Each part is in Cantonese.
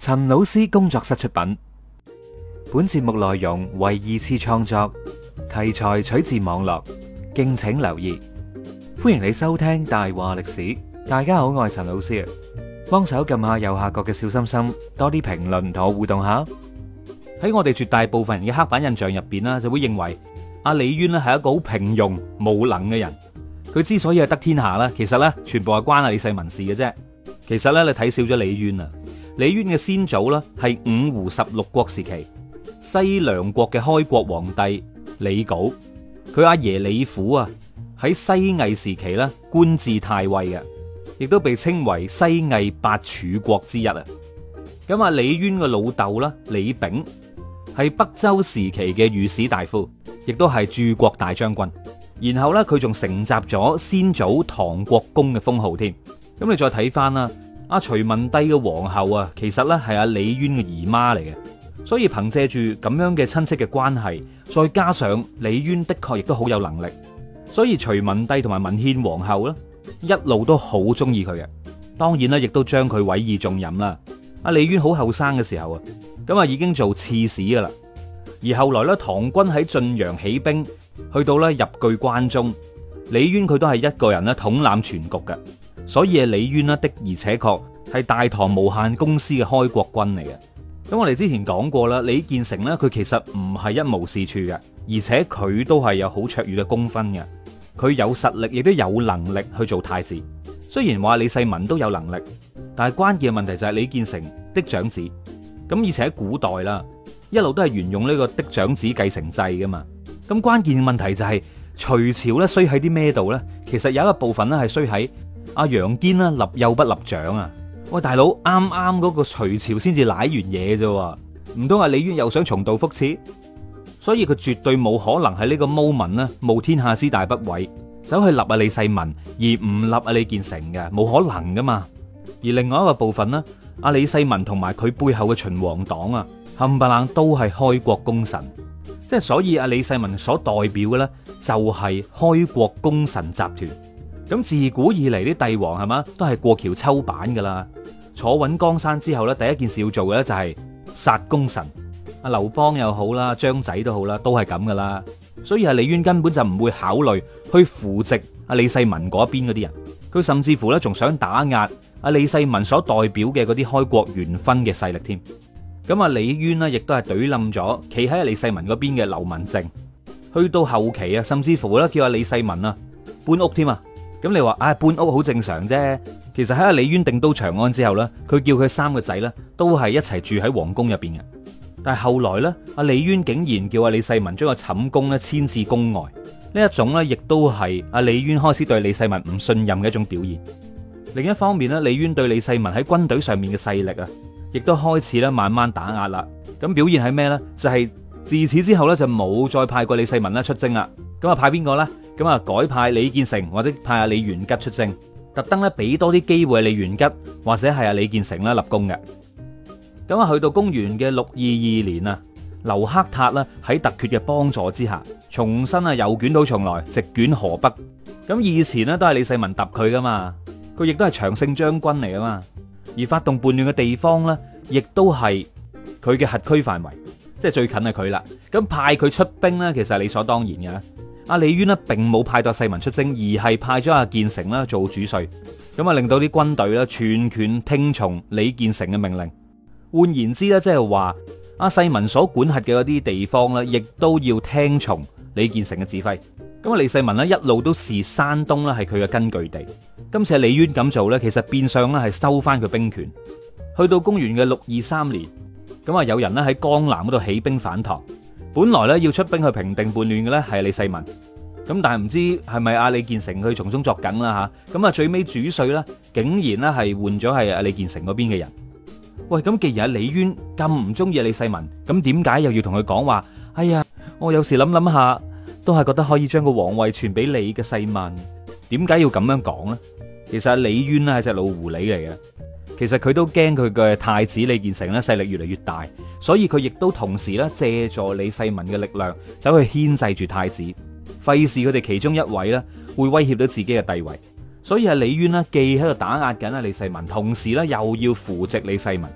陳老師工作室出品，本節目內容為二次創作，題材取自網絡，敬請留意。歡迎你收聽大話歷史。大家好，我係陳老師，幫手撳下右下角嘅小心心，多啲評論同我互動下。喺我哋絕大部分人嘅刻板印象入邊啦，就會認為阿李淵咧係一個好平庸無能嘅人。佢之所以係得天下啦，其實咧全部係關阿李世民事嘅啫。其實咧你睇少咗李淵啊。李淵嘅先祖咧係五胡十六國時期西涼國嘅開國皇帝李昴，佢阿爺李虎啊喺西魏時期咧官至太尉嘅，亦都被稱為西魏八柱國之一啊。咁啊，李淵嘅老豆啦李炳係北周時期嘅御史大夫，亦都係駐國大將軍。然後咧佢仲承襲咗先祖唐國公嘅封號添。咁你再睇翻啦。阿隋文帝嘅皇后啊，其實咧係阿李淵嘅姨媽嚟嘅，所以憑借住咁樣嘅親戚嘅關係，再加上李淵的確亦都好有能力，所以隋文帝同埋文獻皇后咧一路都好中意佢嘅。當然啦，亦都將佢委以重任啦。阿李淵好後生嘅時候啊，咁啊已經做刺史噶啦。而後來咧，唐軍喺晉陽起兵，去到咧入據關中，李淵佢都係一個人咧統攬全局嘅。所以李淵呢的而且確係大唐無限公司嘅開國軍嚟嘅。咁我哋之前講過啦，李建成呢，佢其實唔係一無是處嘅，而且佢都係有好卓越嘅功勳嘅。佢有實力，亦都有能力去做太子。雖然話李世民都有能力，但係關鍵嘅問題就係李建成嫡長子。咁而且喺古代啦，一路都係沿用呢個嫡長子繼承制噶嘛。咁關鍵問題就係隋朝咧衰喺啲咩度呢？其實有一個部分咧係衰喺阿楊堅啦，立幼不立長啊！喂，大佬，啱啱嗰個隋朝先至舐完嘢啫，唔通阿李淵又想重蹈覆轍？所以佢絕對冇可能喺呢個 moment 呢冒天下之大不韙，走去立阿李世民而唔立阿李建成嘅，冇可能噶嘛。而另外一個部分呢，阿李世民同埋佢背後嘅秦皇黨啊，冚唪唥都係開國功臣，即係所以阿李世民所代表嘅呢，就係開國功臣集團。咁自古以嚟啲帝王係嘛，都係過橋抽板噶啦。坐穩江山之後咧，第一件事要做嘅咧就係殺功臣。阿劉邦又好啦，張仔都好啦，都係咁噶啦。所以阿李淵根本就唔會考慮去扶植阿李世民嗰邊嗰啲人，佢甚至乎咧仲想打壓阿李世民所代表嘅嗰啲開國元勳嘅勢力添。咁阿李淵呢，亦都係懟冧咗企喺阿李世民嗰邊嘅劉文正。去到後期啊，甚至乎咧叫阿李世民啊搬屋添啊。咁你話搬屋好正常啫。其實喺阿李淵定都長安之後呢，佢叫佢三個仔呢都係一齊住喺皇宮入邊嘅。但係後來呢，阿李淵竟然叫阿李世民將個寢宮呢遷至宮外，呢一種呢亦都係阿李淵開始對李世民唔信任嘅一種表現。另一方面呢，李淵對李世民喺軍隊上面嘅勢力啊，亦都開始咧慢慢打壓啦。咁表現係咩呢？就係自此之後呢，就冇再派過李世民出征啦。咁啊派邊個呢？咁啊改派李建成或者派阿李元吉出征，特登咧俾多啲機會李元吉或者係阿李建成啦立功嘅。咁啊去到公元嘅622年啊，劉克塔啦喺突厥嘅幫助之下，重新啊又捲土重來，直捲河北。咁以前呢都係李世民揼佢噶嘛，佢亦都係長勝將軍嚟噶嘛，而發動叛亂嘅地方呢，亦都係佢嘅轄區範圍，即係最近係佢啦。咁派佢出兵呢，其實係理所當然嘅。阿李淵呢並冇派到世民出征，而係派咗阿建成啦做主帥，咁啊令到啲軍隊啦全權聽從李建成嘅命令。換言之咧，即係話阿世民所管轄嘅嗰啲地方咧，亦都要聽從李建成嘅指揮。咁啊，李世民呢一路都視山東咧係佢嘅根據地。今次李淵咁做咧，其實變相咧係收翻佢兵權。去到公元嘅623年，咁啊有人咧喺江南嗰度起兵反唐。本來咧要出兵去平定叛亂嘅咧係李世民，咁但係唔知係咪阿李建成佢從中作梗啦吓，咁啊最尾主帥咧竟然咧係換咗係阿李建成嗰邊嘅人。喂，咁既然阿李淵咁唔中意阿李世民，咁點解又要同佢講話？哎呀，我有時諗下，都係覺得可以將個皇位傳俾你嘅世民。點解要咁樣講呢？其實阿李淵咧係隻老狐狸嚟嘅。其實佢都驚佢嘅太子李建成咧勢力越嚟越大，所以佢亦都同時咧借助李世民嘅力量走去牽制住太子，費事佢哋其中一位咧會威脅到自己嘅地位。所以係李淵呢既喺度打壓緊阿李世民，同時咧又要扶植李世民。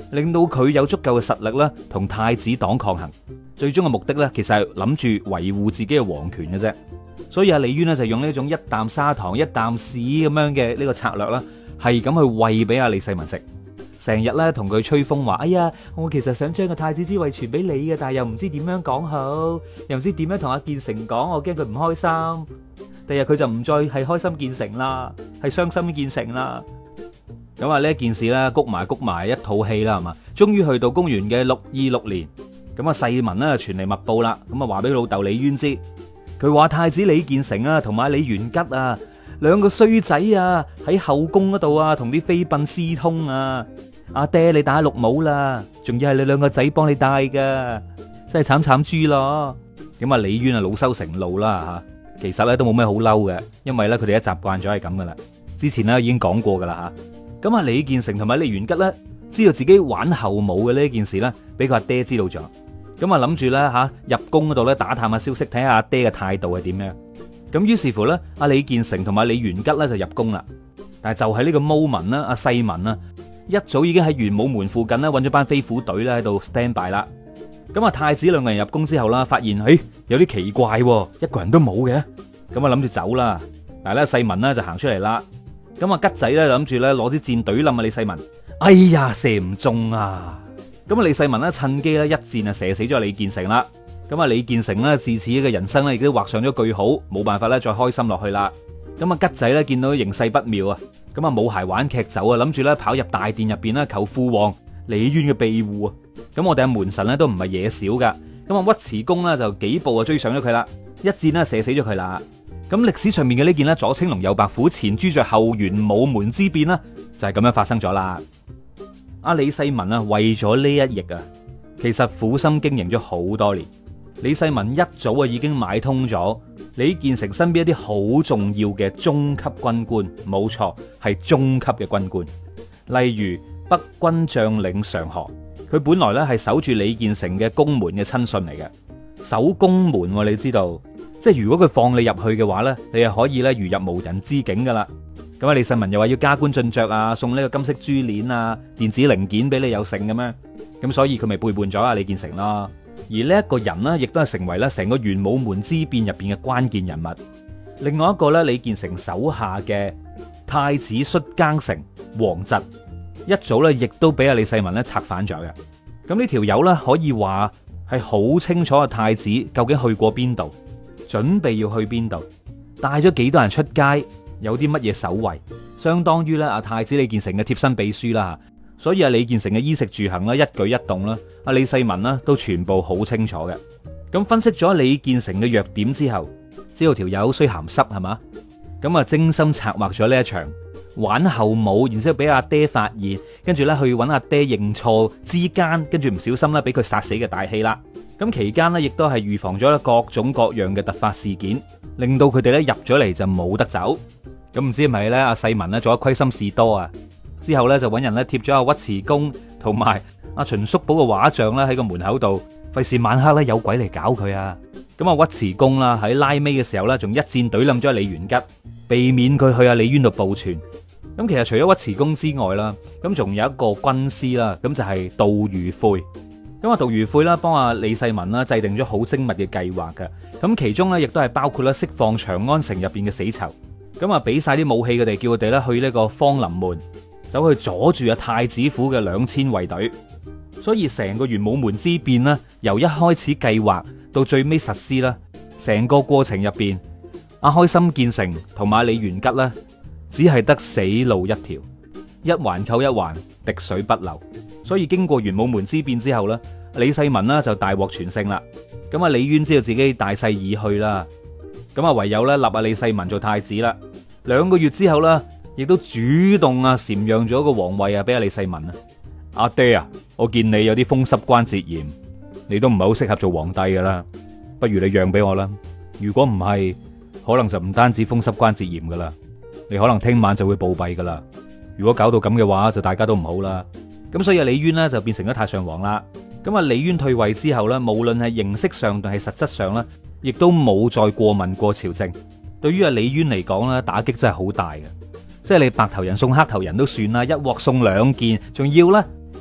令到佢有足夠嘅實力咧，同太子黨抗衡。最終嘅目的咧，其實係諗住維護自己嘅皇權嘅啫。所以阿李淵呢，就用呢種一啖砂糖一啖屎咁樣嘅呢個策略啦，係咁去餵俾阿李世民食，成日咧同佢吹風話：哎呀，我其實想將個太子之位傳俾你嘅，但係又唔知點樣講好，又唔知點樣同阿建成講，我驚佢唔開心。第日佢就唔再係開心建成啦，係傷心建成啦。咁啊呢一件事咧，谷埋一套戲啦，係嘛？終於去到公元嘅626年，咁啊世民咧傳嚟密報啦，咁啊話俾老豆李淵知，佢話太子李建成啊，同埋李元吉啊，兩個衰仔啊，喺後宮嗰度啊，同啲妃嬪私通啊！阿爹你戴綠帽啦，仲要係你兩個仔幫你戴噶，真係慘慘豬咯！咁啊李淵啊惱羞成怒啦吓，其實咧都冇咩好嬲嘅，因為咧佢哋一習慣咗係咁噶啦，之前咧已經講過噶啦吓。咁啊李建成同埋李元吉咧，知道自己玩後母嘅呢件事咧，俾佢阿爹知道咗。咁啊諗住咧吓入宮嗰度咧打探下消息，睇下阿爹嘅態度係點樣。咁於是乎咧，阿李建成同埋李元吉咧就入宮啦。但係就係呢個 moment 啦，阿世民啊一早已經喺玄武門附近咧揾咗班飛虎隊咧喺度 stand by 啦。咁啊太子兩個人入宮之後啦，發現有啲奇怪，一個人都冇嘅。咁啊諗住走啦，但係咧世民咧就行出嚟啦。咁啊吉仔咧諗住咧攞支箭懟冧啊李世民，哎呀射唔中啊！咁啊李世民咧趁機咧一箭啊射死咗李建成啦。咁啊李建成咧自此嘅人生咧亦都畫上咗句號，冇辦法咧再開心落去啦。咁啊吉仔咧見到形勢不妙啊，咁啊冇鞋玩劇走啊，諗住咧跑入大殿入邊咧求父王李淵嘅庇護啊。咁我哋阿門神咧都唔係嘢少噶，咁啊尉遲恭咧就幾步啊追上咗佢啦，一箭咧射死咗佢啦。咁歷史上面嘅呢件咧左青龍右白虎前朱雀後玄武門之變啦，就係咁樣發生咗啦。阿李世民啊為咗呢一役啊，其實苦心經營咗好多年。李世民一早啊已經買通咗李建成身邊一啲好重要嘅中級軍官，冇錯係中級嘅軍官，例如北軍將領常河，佢本來咧係守住李建成嘅宮門嘅親信嚟嘅，守宮門你知道，即係如果佢放你入去嘅話咧，你係可以咧如入無人之境噶啦。咁啊李世民又話要加官進爵啊，送呢個金色珠鏈啊、電子零件俾你有剩嘅咩？咁所以佢咪背叛咗阿李建成咯。而呢一個人呢，亦都係成為咧成個玄武門之變入邊嘅關鍵人物。另外一個咧，李建成手下嘅太子率更丞王侄，一早咧亦都俾阿李世民咧策反咗嘅。咁呢條友咧可以話係好清楚阿太子究竟去過邊度，準備要去邊度，帶咗幾多人出街，有啲乜嘢守衛，相當於咧阿太子李建成嘅貼身秘書啦。所以阿李建成嘅衣食住行啦，一舉一動啦，阿李世民啦都全部好清楚嘅。咁分析咗李建成嘅弱點之後，知道條友衰鹹濕係嘛，咁啊精心策劃咗呢一場玩後母，然之後俾阿爹發現，跟住咧去揾阿爹認錯之間，跟住唔小心咧俾佢殺死嘅大戲啦。咁期間呢，亦都係預防咗各種各樣嘅突發事件，令到佢哋咧入咗嚟就冇得走。咁唔知係咪咧阿世民咧做咗虧心事多啊？之後咧就揾人咧貼咗阿尉遲恭同埋阿秦叔寶嘅畫像咧喺個門口度，費事晚黑咧有鬼嚟搞佢啊！咁啊尉遲恭啦喺拉尾嘅時候咧，仲一箭懟冧咗李元吉，避免佢去阿李淵度報傳。咁其實除咗尉遲恭之外啦，咁仲有一個軍師啦，咁就係杜如晦。咁啊杜如晦啦幫阿李世民啦制定咗好精密嘅計劃嘅，咁其中咧亦都係包括咧釋放長安城入邊嘅死囚，咁啊俾晒啲武器佢哋，叫佢哋咧去呢個芳臨門，走去阻住阿太子府嘅2000衛隊。所以成個玄武門之變呢，由一開始計劃到最尾實施啦，成個過程入邊，阿開心建成同埋李元吉呢，只係得死路一條，一環扣一環，滴水不漏。所以經過玄武門之變之後呢，李世民呢就大獲全勝啦。咁啊李淵知道自己大勢已去啦，咁啊唯有咧立阿李世民做太子啦。2個月之後呢，亦都主動啊禪讓咗個皇位啊俾阿李世民啊。阿爹啊，我見你有啲風濕關節炎，你都唔係好適合做皇帝噶啦，不如你讓俾我啦。如果唔係，可能就唔單止風濕關節炎噶啦，你可能聽晚就會暴斃噶啦。如果搞到咁嘅話，就大家都唔好啦。咁所以李淵呢，就變成咗太上皇啦。咁啊李淵退位之後呢，無論係形式上定係實質上呢，亦都冇再過問過朝政。對於阿李淵嚟講呢，打擊真係好大嘅。即係你白頭人送黑頭人都算啦，一鑊送2件，仲要呢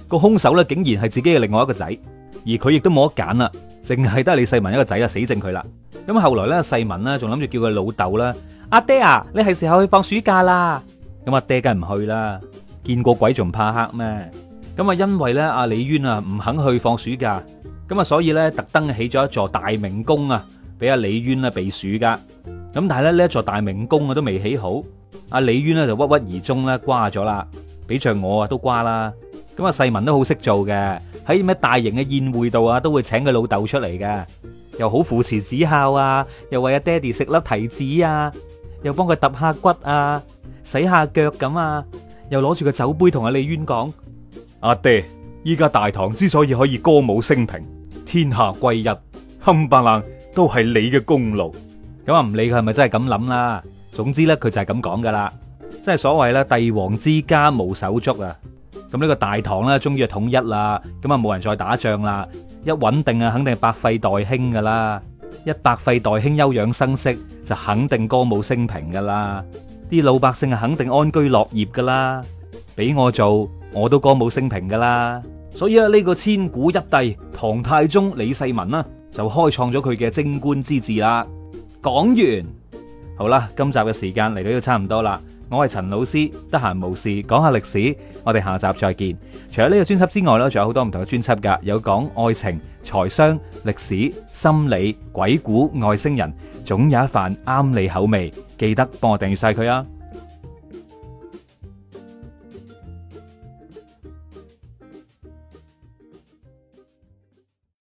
個兇手咧竟然係自己嘅另外一個仔，而佢亦都冇得揀啦，淨係得李世民一個仔啦，死剩佢啦。咁後來咧，世民咧仲諗住叫佢老豆啦，阿爹啊，你係時候去放暑假啦。咁阿爹梗係唔去啦，見過鬼仲怕黑咩？咁啊，因為咧阿李淵啊唔肯去放暑假，咁啊所以咧特登起咗一座大明宮啊，俾阿李淵啊避暑噶。咁但係咧呢一座大明宮啊都未起好，阿李淵咧就鬱鬱而終咧瓜咗啦，俾着我啊都瓜啦。咁啊世民都好識做嘅，喺咩大型嘅宴會度啊都會請佢老豆出嚟嘅，又好父慈子孝啊，又為阿爹哋食粒提子啊，又幫佢揼下骨啊，洗下腳咁啊，又攞住個酒杯同阿李淵講：阿爹，依家大唐之所以可以歌舞升平，天下歸一，冚唪唥都係你嘅功勞。咁啊唔理佢係咪真係咁諗啦，總之咧佢就係咁講噶啦，即係所謂咧帝王之家無手足啊。咁呢個大唐咧終於係統一啦，咁啊冇人再打仗啦，一穩定啊肯定係百廢待興噶啦，一百廢待興休養生息就肯定歌舞升平噶啦，啲老百姓啊肯定安居樂業噶啦，俾我做我都歌舞升平噶啦。所以啊呢個千古一帝唐太宗李世民啦就開創咗佢嘅貞觀之治啦。講完，好啦，今集嘅時間嚟到都差唔多啦。我係陳老師，得閒無事講下歷史，我哋下集再見。除咗呢個專輯之外呢，仲有好多唔同嘅專輯噶，有講愛情、財商、歷史、心理、鬼故、外星人，總有一瓣啱你口味。記得幫我訂閱晒佢啊！